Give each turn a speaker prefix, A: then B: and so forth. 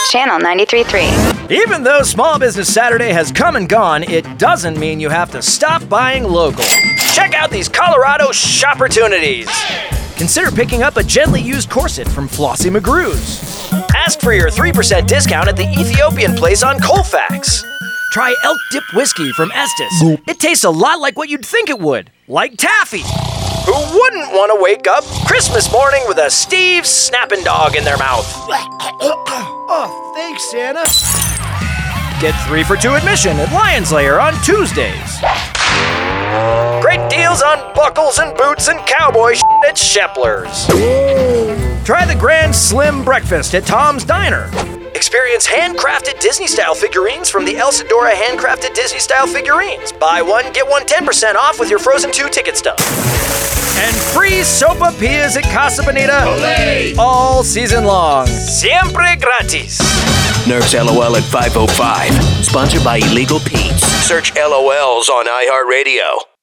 A: Channel 93.3.
B: Even though Small Business Saturday has come and gone, it doesn't mean you have to stop buying local. Check out these Colorado shopportunities. Consider picking up a gently used corset from Flossie McGrew's. Ask for your 3% discount at the Ethiopian place on Colfax. Try Elk Dip Whiskey from Estes. It tastes a lot like what you'd think it would, like taffy. Who wouldn't want to wake up Christmas morning with a Steve's Snappin' Dog in their mouth? Oh, thanks, Santa. Get 3 for 2 admission at Lion's Lair on Tuesdays. Great deals on buckles and boots and cowboy at Shepler's. Try the Grand Slim Breakfast at Tom's Diner. Experience handcrafted Disney-style figurines from the Elsadora Handcrafted Disney-style figurines. Buy one, get one 10% off with your Frozen 2 ticket stub. And free sopapillas at Casa Bonita all season long. Siempre gratis.
C: Nerf's LOL at 5:05. Sponsored by Illegal Pete's. Search LOLs on iHeartRadio.